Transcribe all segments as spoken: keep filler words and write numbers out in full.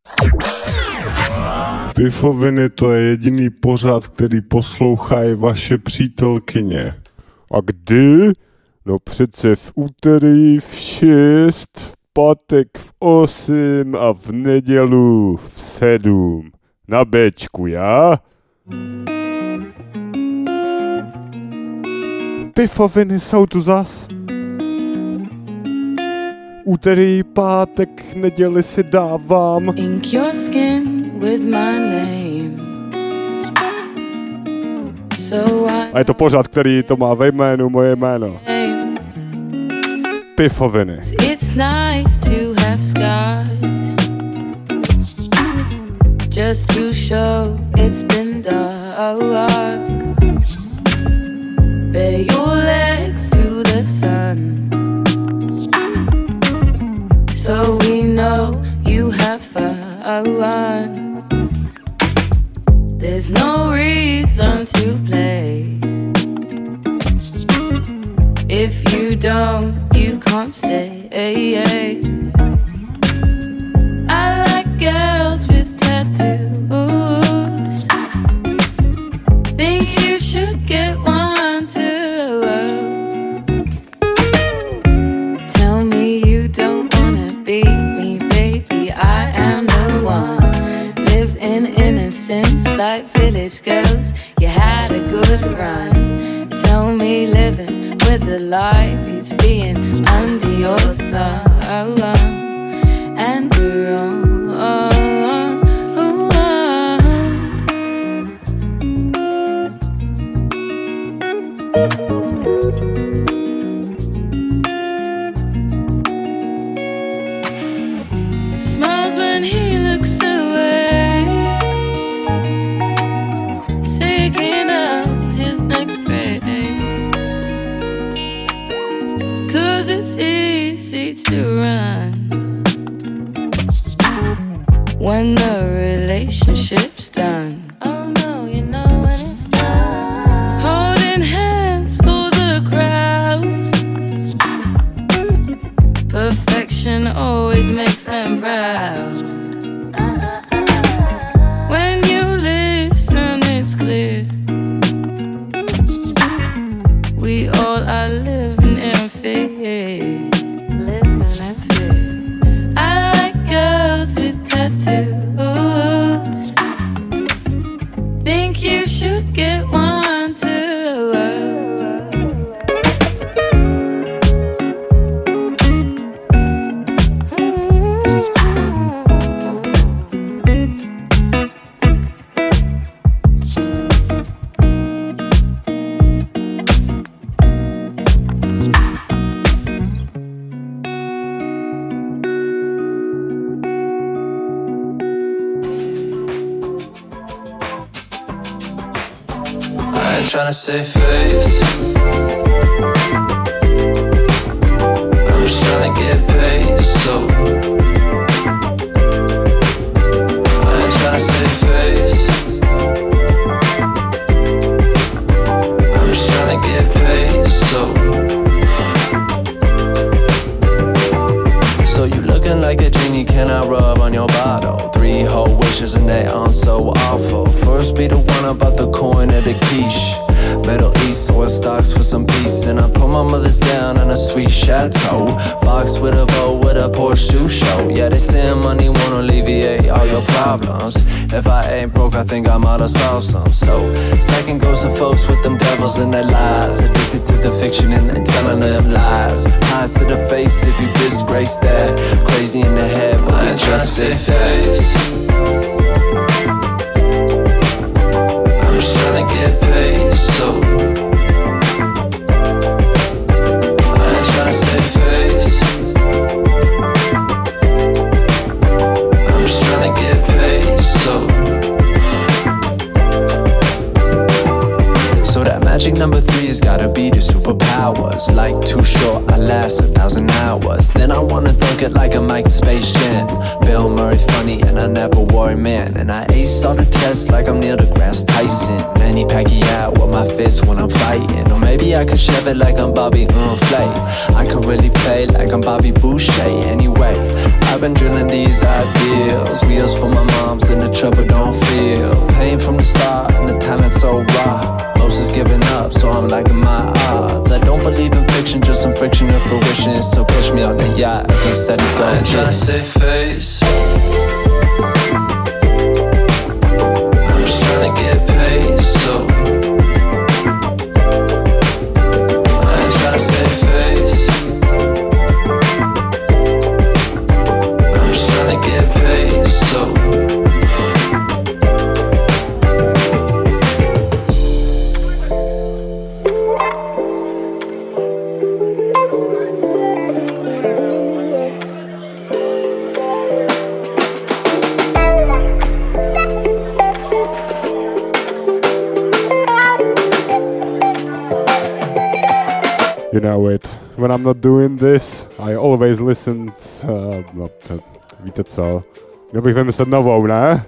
Pifoviny, to je jediný pořad, který poslouchají vaše přítelkyně. A kdy? No přece v úterý v šest, v pátek v osm a v nedělu v sedm. Na Bčku, já? Pifoviny jsou tu zas. Úterý, pátek, neděli si dávám. Ink your skin with my name. So I... A je to pořad, který to má ve jménu moje jméno. Pifoviny. It's nice to have scars, just to show it's been dark. Bare your legs to the sun, so we know you have fun. There's no reason to play. If you don't, you can't stay. I like girls with tattoos. Think you should get one too. Tell me you don't wanna be me, baby. I am the one. Live in innocence like village girls. You had a good run. Tell me living with the light beats being under your thumb. And we're on. Smiles when he looks away, seeking out his next prey. Cause it's easy to run when the relationship's done. Oh no, you know when it's done. Holding hands for the crowd. Perfection always makes them proud. When you listen, it's clear we all are living in fear. Living in fear. I like girls with tattoos. Think you should get one too. Tryna save face, I'm just tryna get paid, so I ain't tryna save face, I'm just tryna get paid, so So you looking like a genie, can I rub on your bottle? Three whole wishes and they aren't so awful. First be the one about the coin or the quiche. Middle East oil stocks for some peace. And I put my mother's down in a sweet chateau. Box with a bow with a Porsche shoe show. Yeah, they say money won't alleviate all your problems. If I ain't broke, I think I might have solved some. So, second goes to folks with them devils in their lies. Addicted to the fiction and they telling them lies. Eyes to the face if you disgrace that. Crazy in the head, but I ain't just this face. I'm just tryna get paid, so I ain't tryna save face. I'm just tryna get paid, so So that magic number three's gotta be the superpowers. Like too short, I last a thousand hours. Then I wanna dunk it like a Mike Space Jam. Bill Murray very funny and I never worry, man. And I ace all the tests like I'm Neil deGrasse Tyson. Manny Pacquiao with my fists when I'm fighting. Or maybe I could shove it like I'm Bobby Unflay. I could really play like I'm Bobby Boucher. Anyway, I've been drilling these ideals. Wheels for my moms and the trouble don't feel. Pain from the start and the talent so raw. Most is giving up, so I'm liking my odds. I don't believe in fiction, just some friction and fruition. So catch me on the yacht as I'm steady going. I ain't tryna save face. I'm just tryna get paid, so I ain't tryna save face. I'm just tryna get paid, so You know it. When I'm not doing this, I always listen. Uh, no, to, víte co? Měl bych vymyslet novou, ne?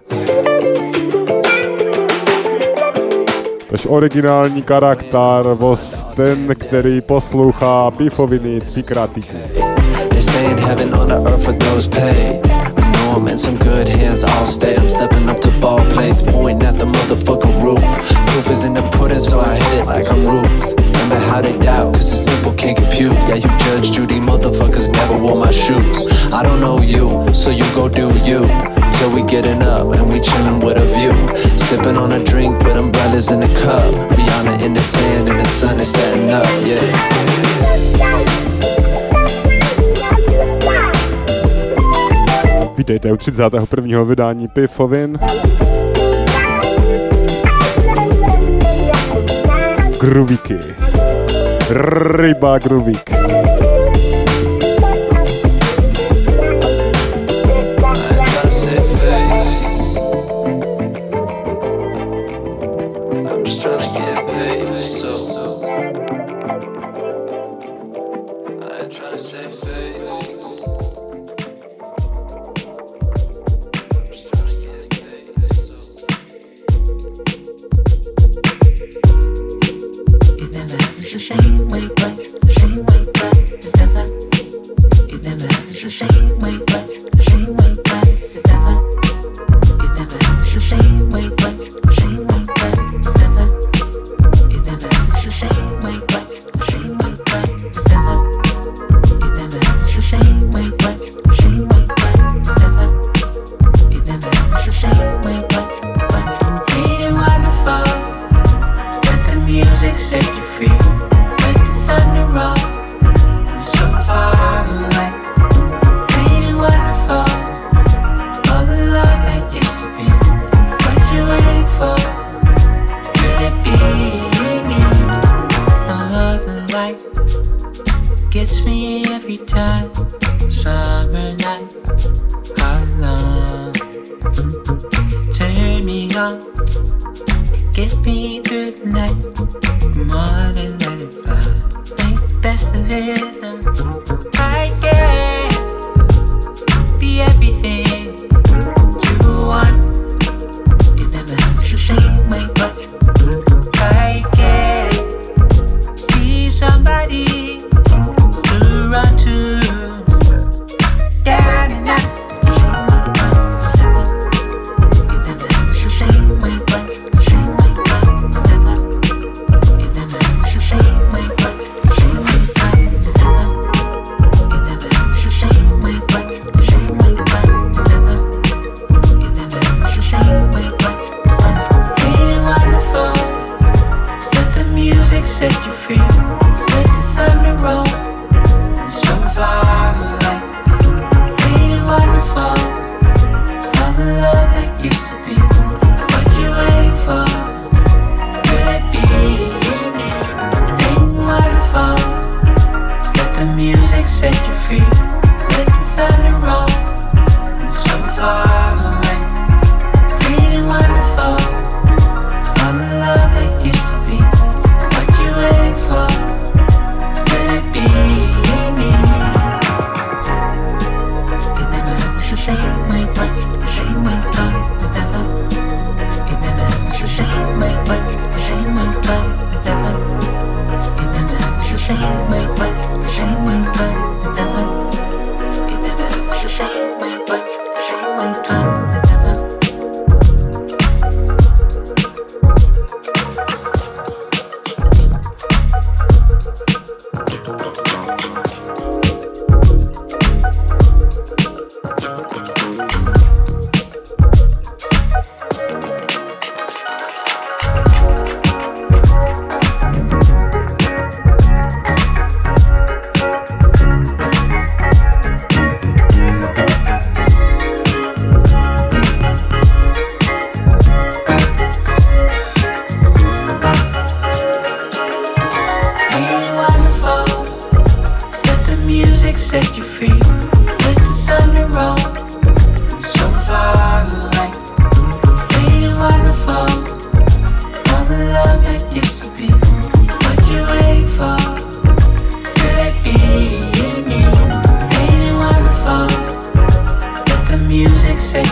Tož originální charakter, vos ten, který poslouchá pífoviny třikrát týdně. They say in heaven on the earth for those paid. I know I'm in some good hands, I'll stay. I'm stepping up to ball plays, pointing at the motherfucking roof. Proof is in the pudding, so I hit it like I'm Ruth. Remember how they doubt, cause it's simple, can't compute. Yeah, you Judge Judy, motherfuckers never wore my shoes. I don't know you, so you go do you. Till we getting up and we chillin' with a view. Sipping on a drink with umbrellas in the cup. Rihanna in the sand and the sun is setting up, yeah. Vítejte u třicátého prvního vydání Pifovin. Groovíky. Ryba groovík.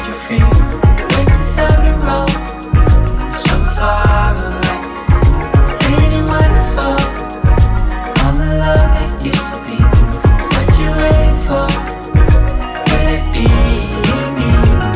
you feel when you thought the road so far away? Feeling wonderful, all the love that used to be. What you waiting for? Could it be me?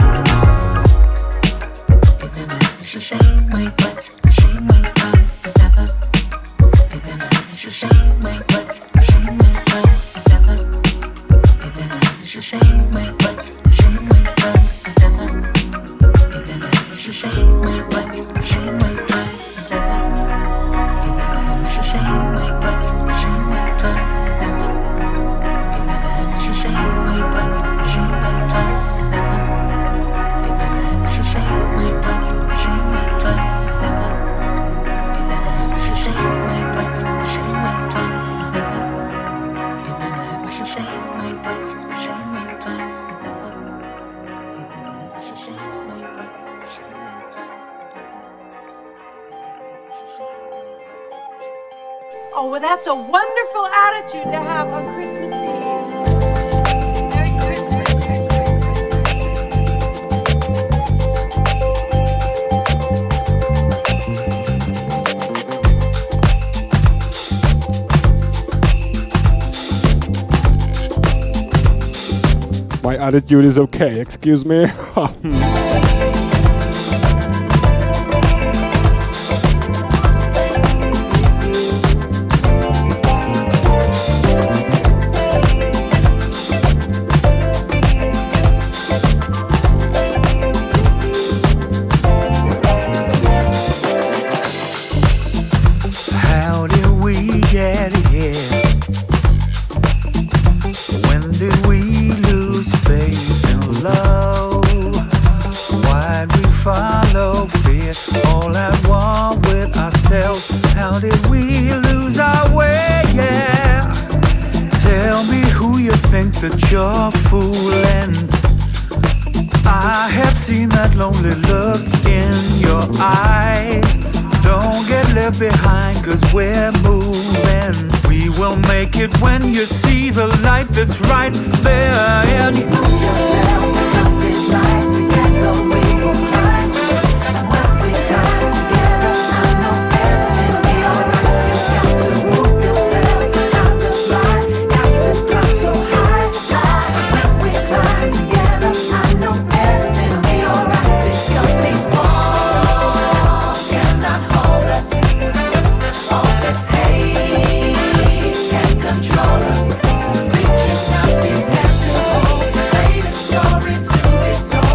It's the same way, but the same way, but never. It's the same way, but the same way, but never. It's the same way, but the same way, but never. It's the same way, but the same way, but never. It's the same way, but the same way, but never. It's the same way, but the same way, but never. It's the same way, but the same way, but never. It's the same way, but the same way, but never. It's the same way, but the same way, but never. It's the same way, but the same way, but it's the same way. Oh, well, that's a wonderful attitude to have on Christmas Eve. Merry Christmas. My attitude is okay, excuse me. How did we get here? When did we lose faith in love? Why'd we follow fear all at one with ourselves? How did we lose our way? Yeah. Tell me who you think that you're fooling. I have seen that lonely look in your eyes. Don't get left behind, cause we're moving. We will make it when you see the light that's right there. And you know yourself, come this light together, we will climb. When we climb together, I know everything will be alright. You got to move yourself, got to fly, got to climb so high, high. When we climb together, I know everything will be alright. Because these walls cannot hold us. All this hate can control us. Reaching out these hands to hold, greatest story to be told.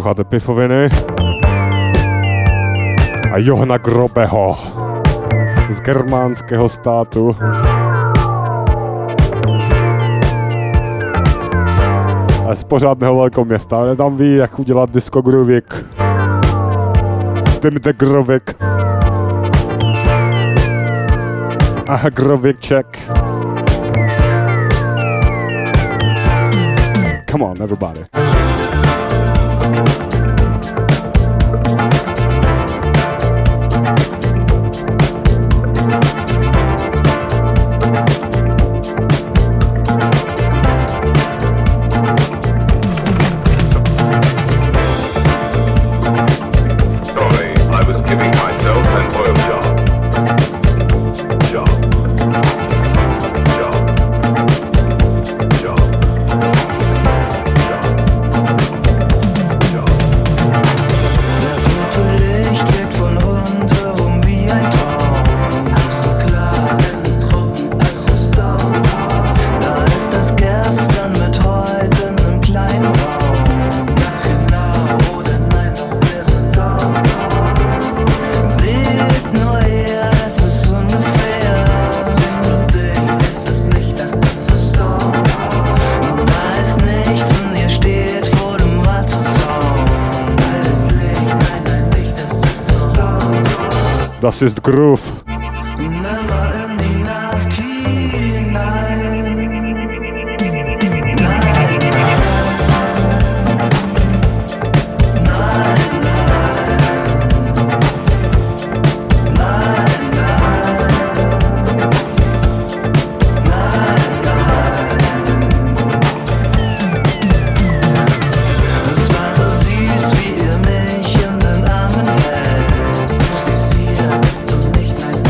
Posloucháte Pifoviny a Johana Grobeho z germánského státu. A z pořádného velkoměsta, ale tam ví, jak udělat disco groovik. Timte grovik. A grovik check. Come on, everybody. Das ist Groove. Nicht nein.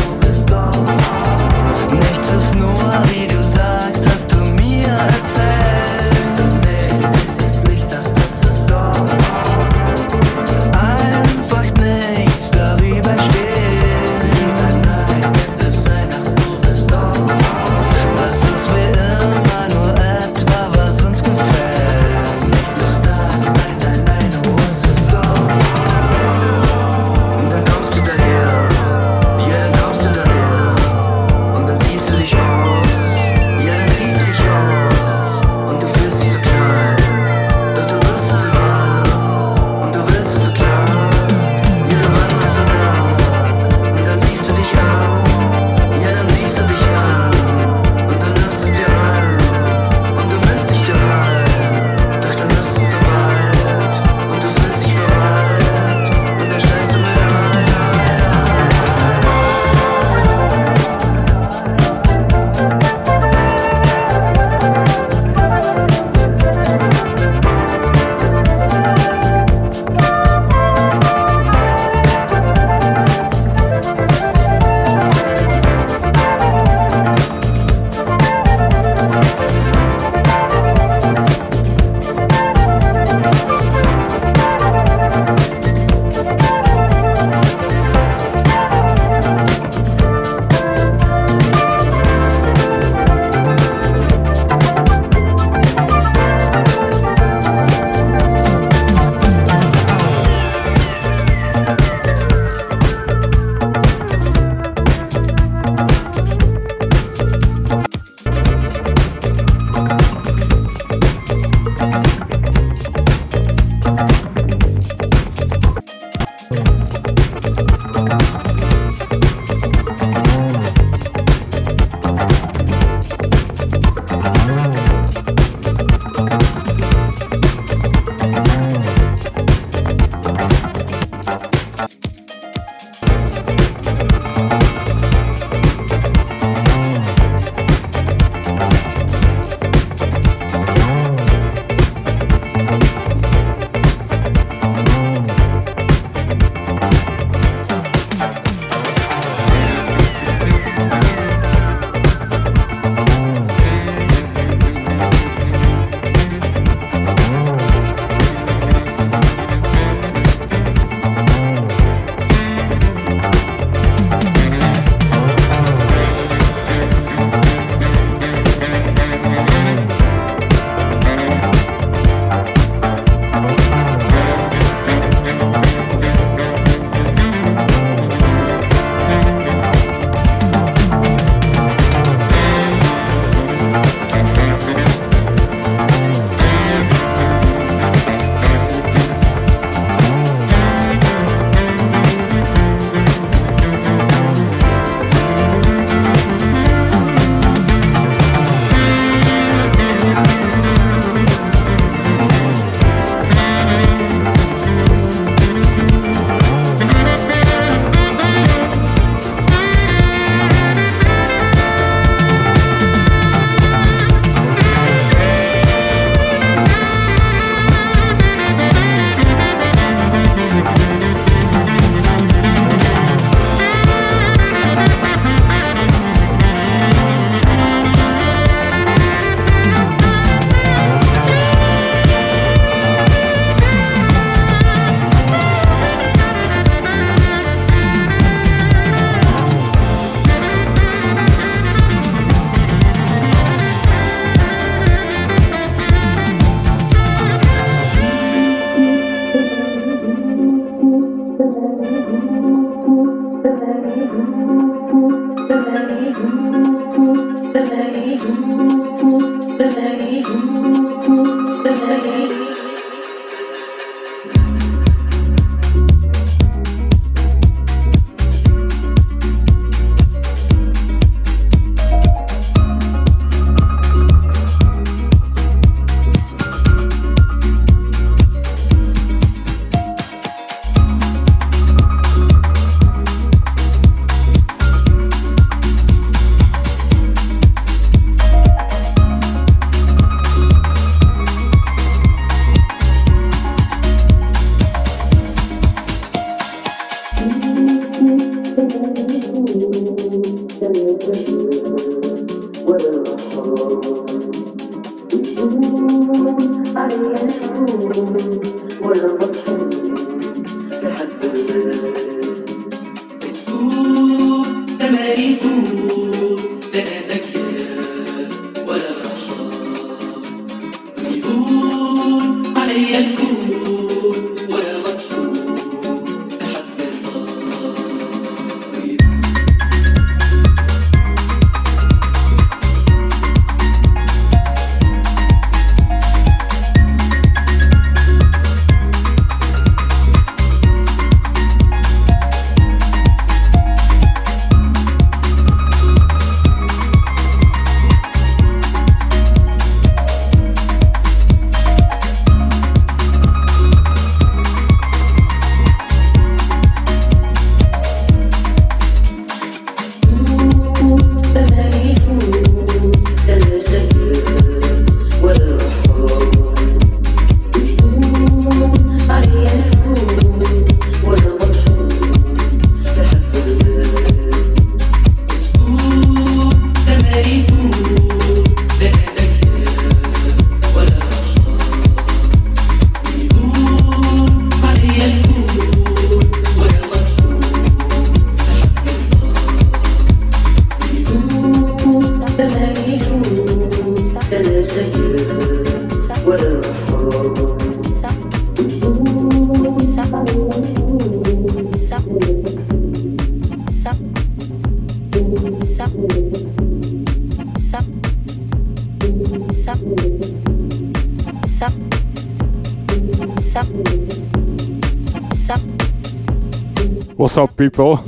What's up, people?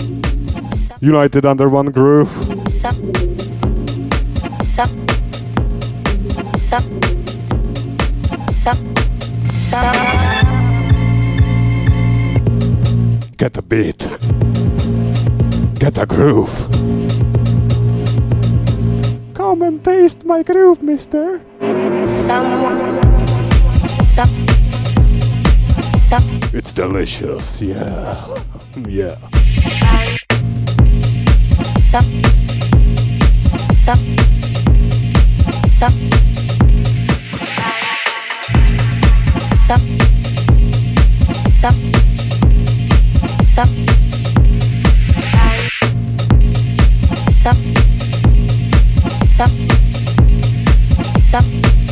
United under one groove. Sup. Sup. Sup. Sup. Sup. Get a beat. Get a groove. Come and taste my groove, mister. Someone. Sup. Sup. It's delicious, yeah. Yeah. Sup. Sup. Sup. Sup. Sup. Sup. Sup. Sup. Sup.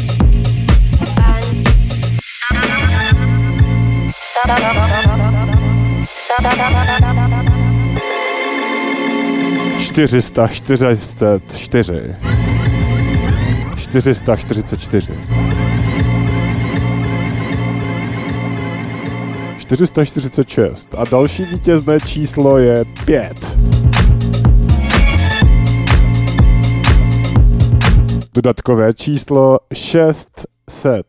čtyři sta čtyřicet čtyři. čtyři sta čtyřicet čtyři. čtyři sta čtyřicet šest. A další vítězné číslo je pět. Dodatkové číslo šest set.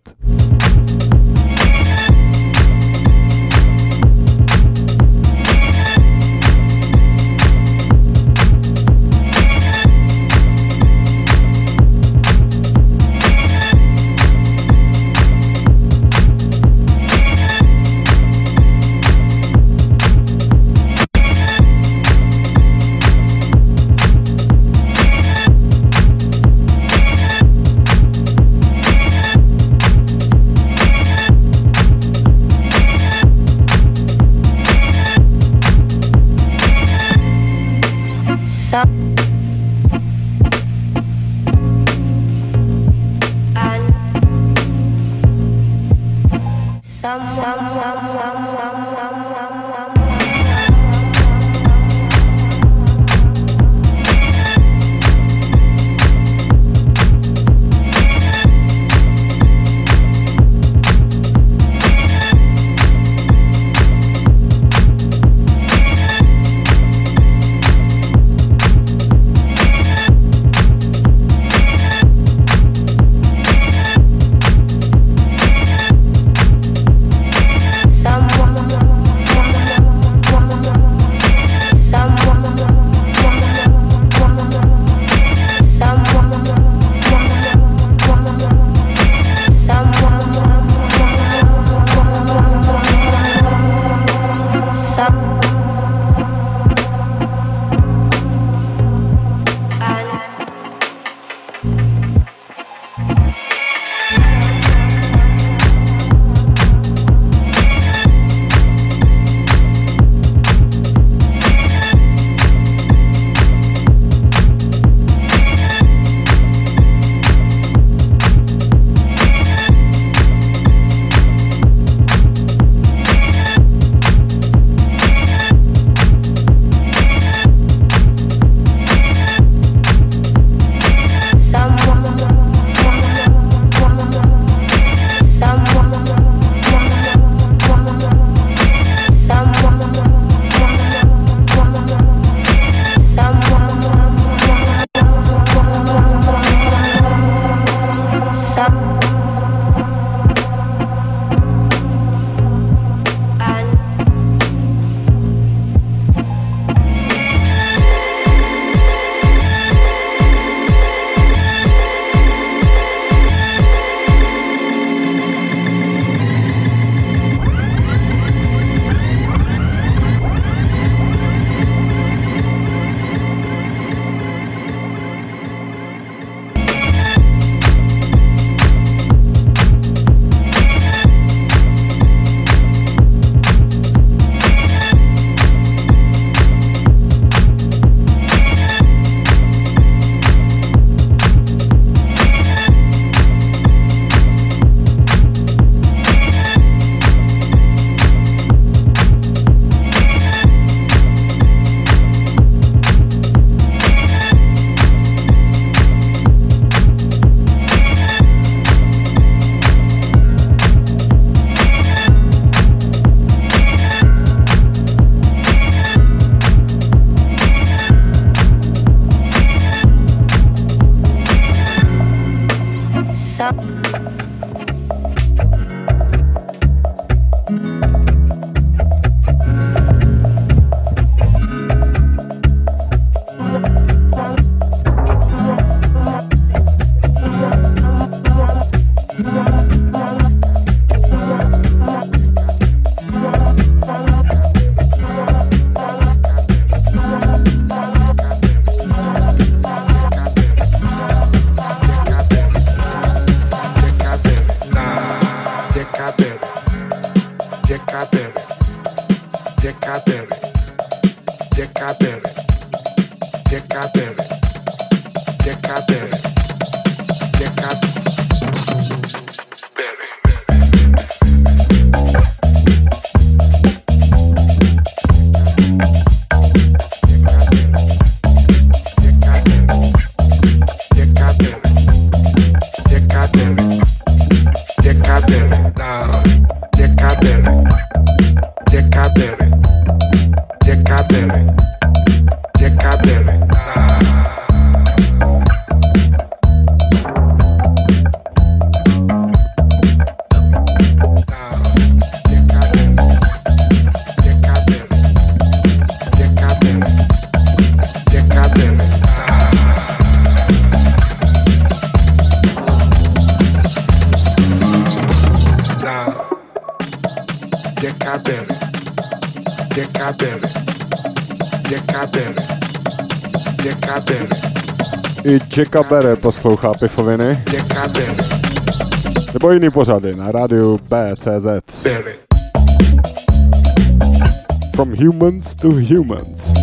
Sup. And some, some, some, some, some, some, some, some. I Jacka Berry poslouchá Pifoviny. Nebo jiný pořady na rádiu B C Z. From humans to humans.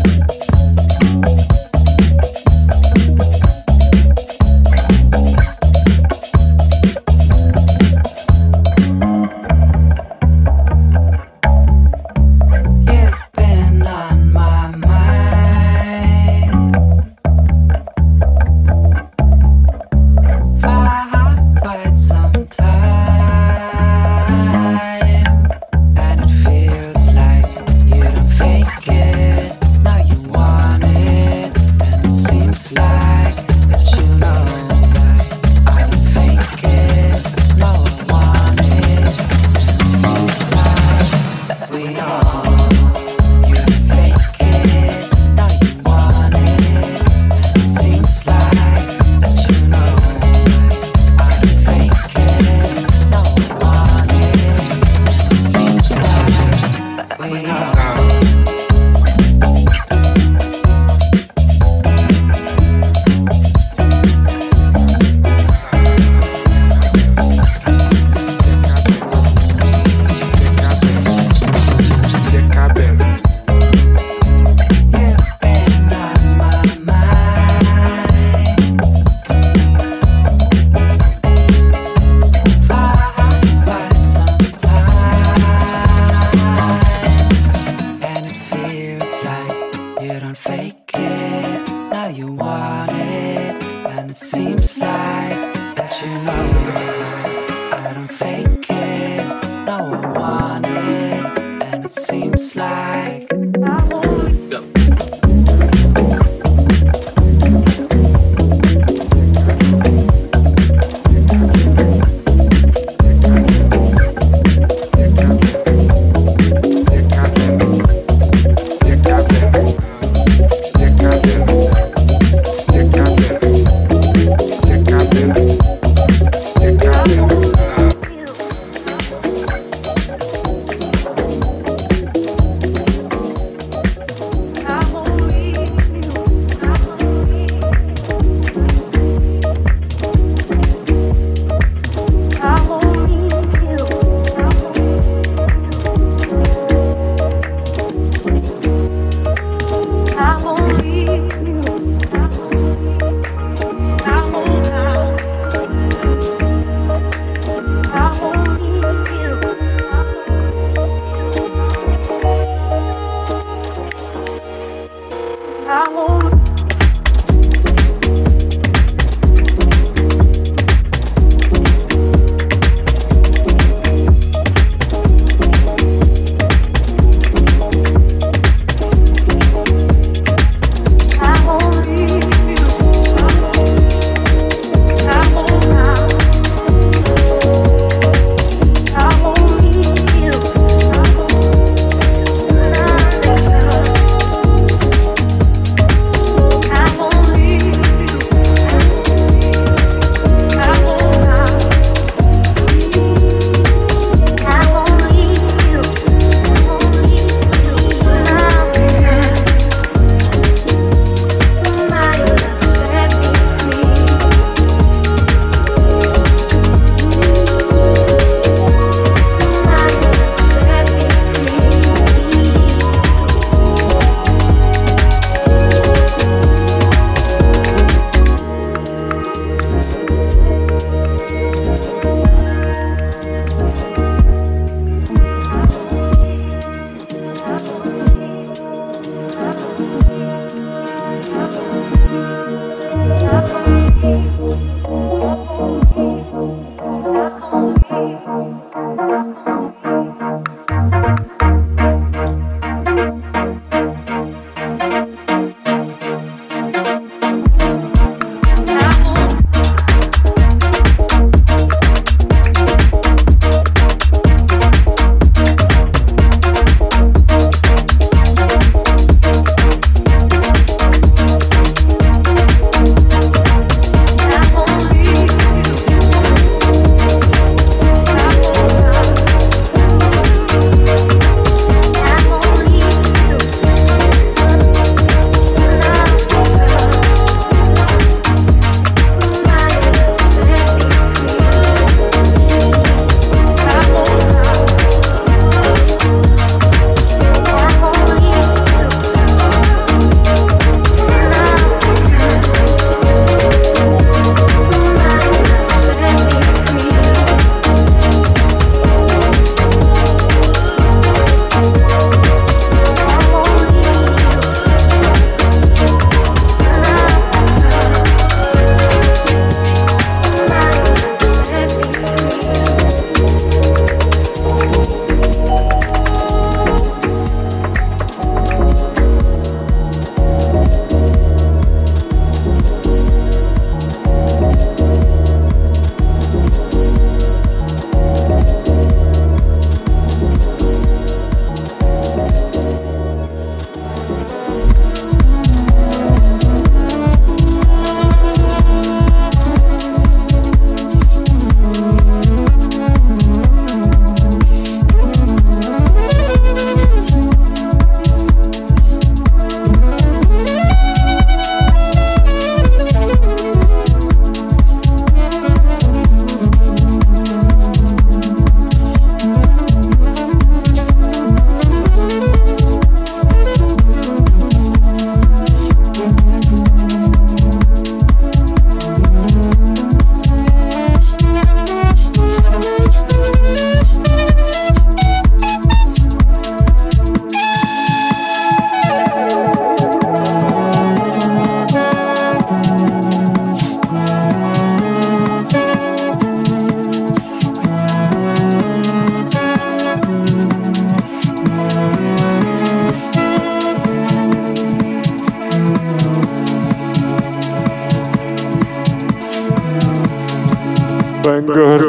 banger.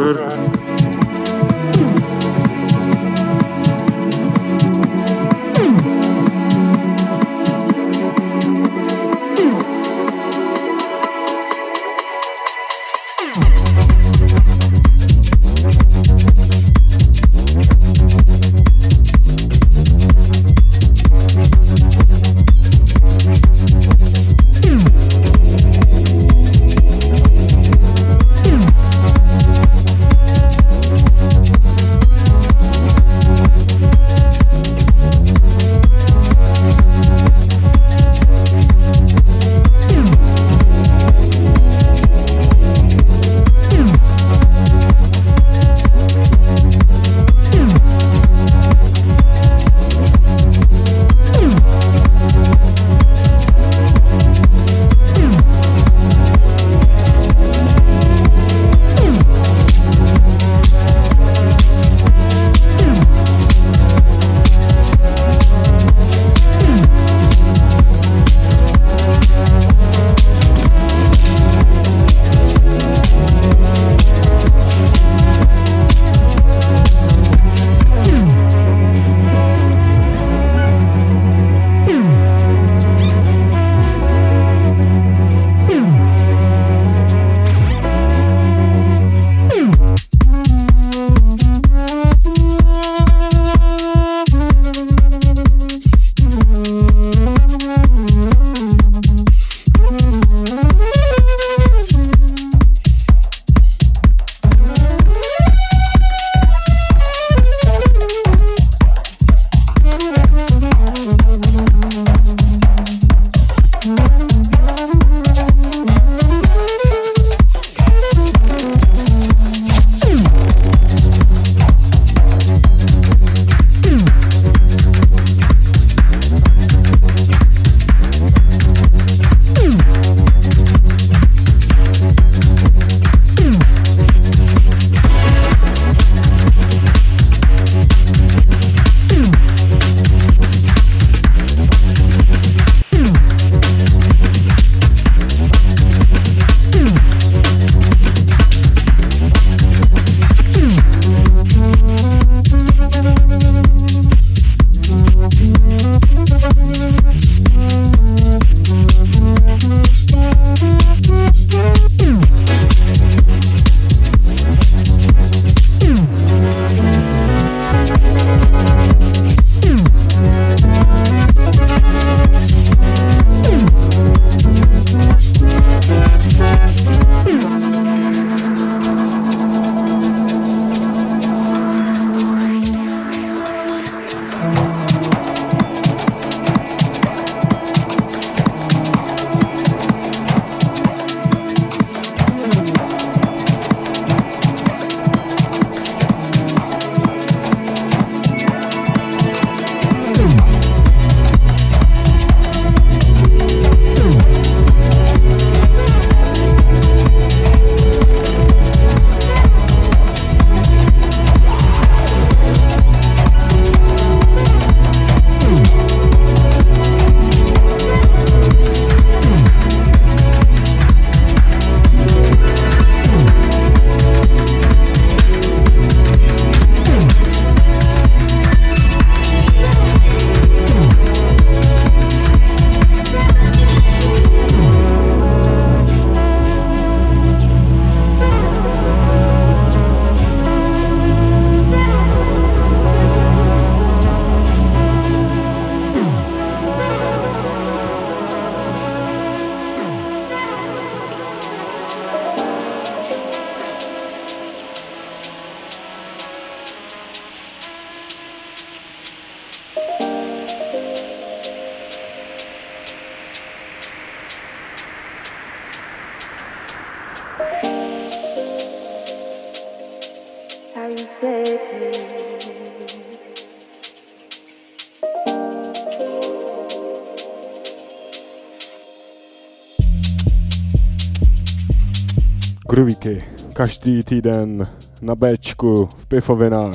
Groovíky, každý týden na Bčku, v Pifovinách.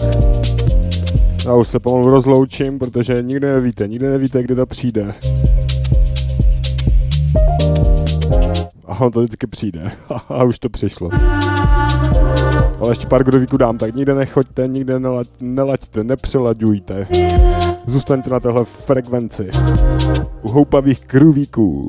Já už se pomalu rozloučím, protože nikdy nevíte, nikdy nevíte, kdy to přijde. A on to vždycky přijde. A už to přišlo. Ale ještě pár grovíků dám, tak nikde nechoďte, nikde nelaď, nelaďte, nepřelaďujte. Zůstaňte na téhle frekvenci. U houpavých grovíků.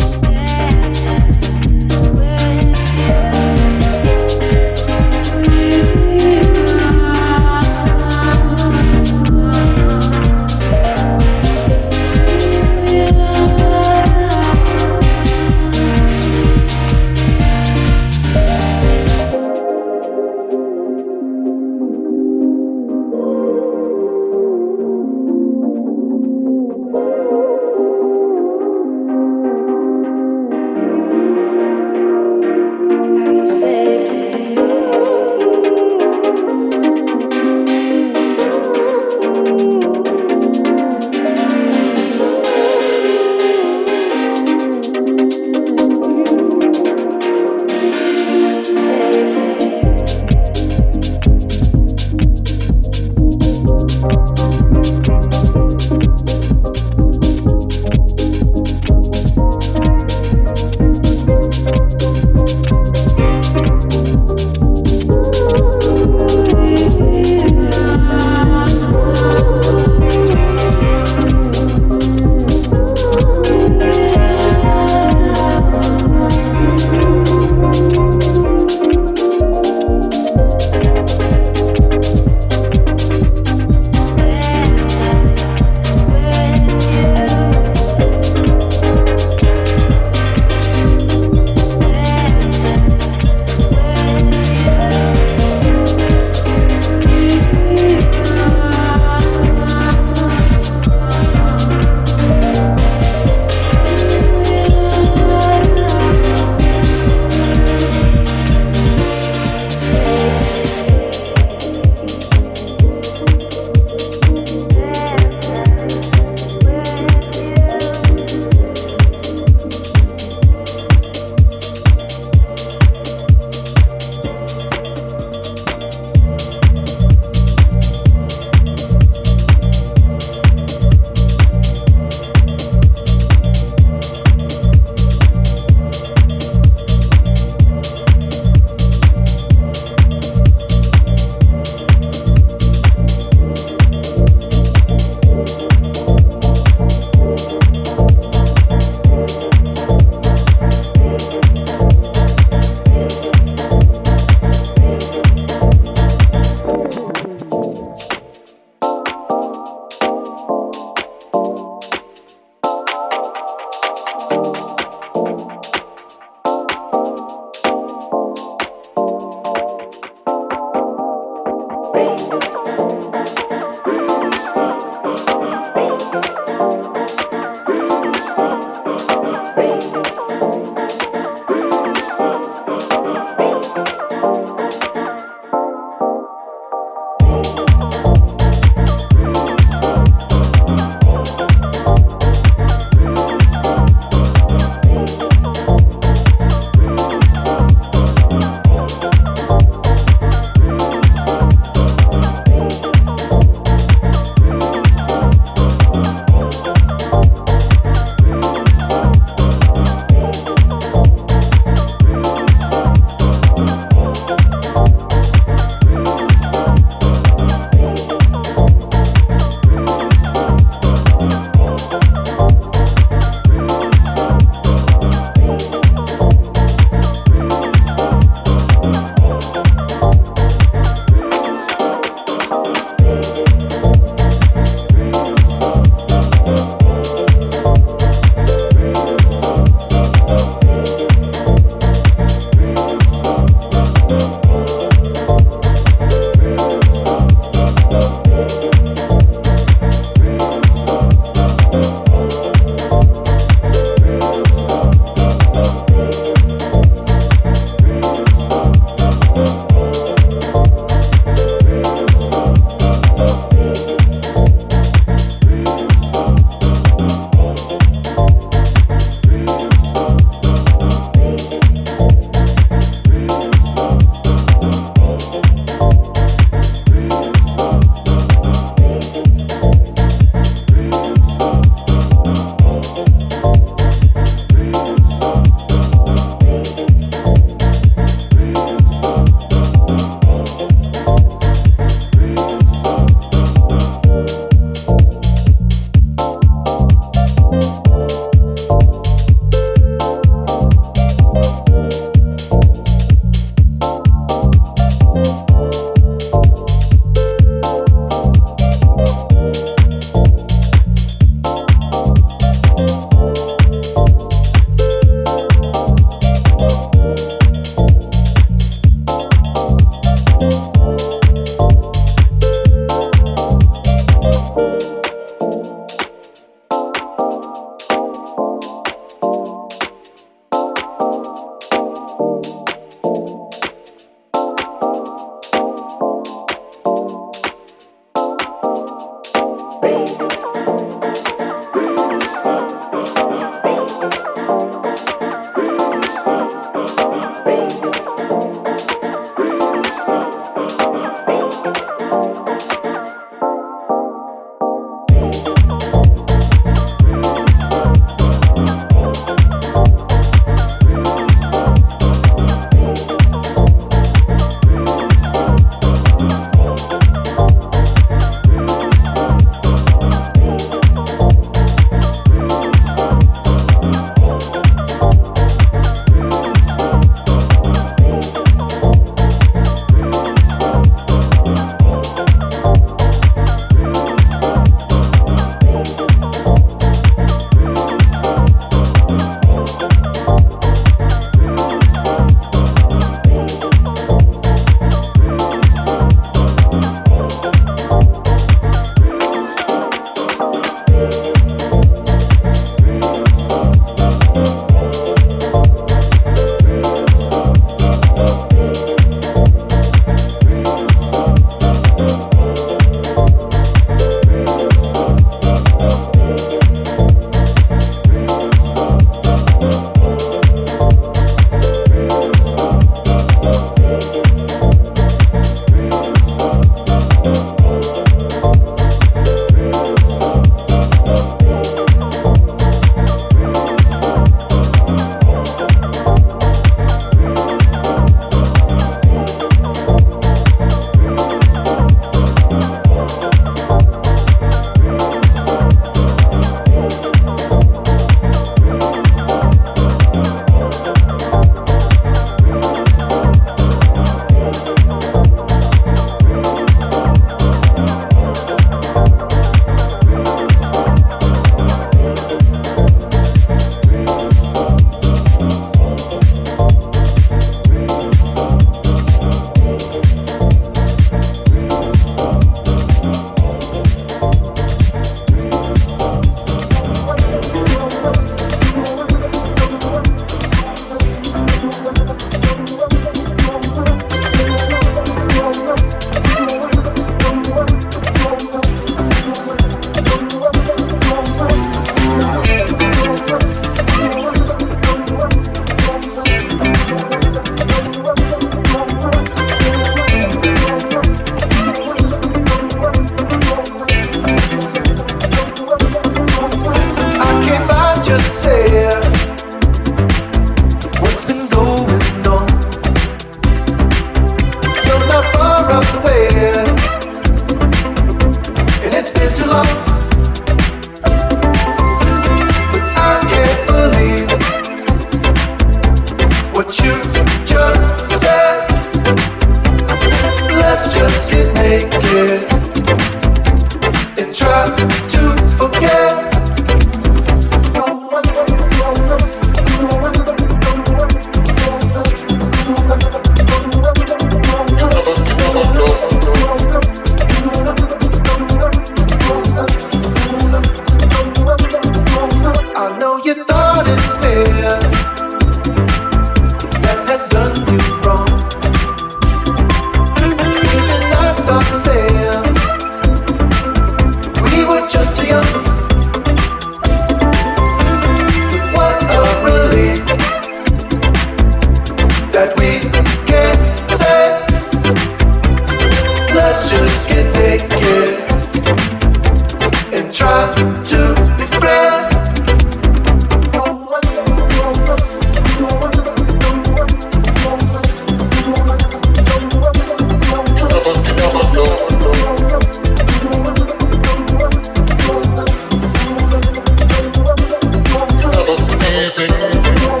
Thank you.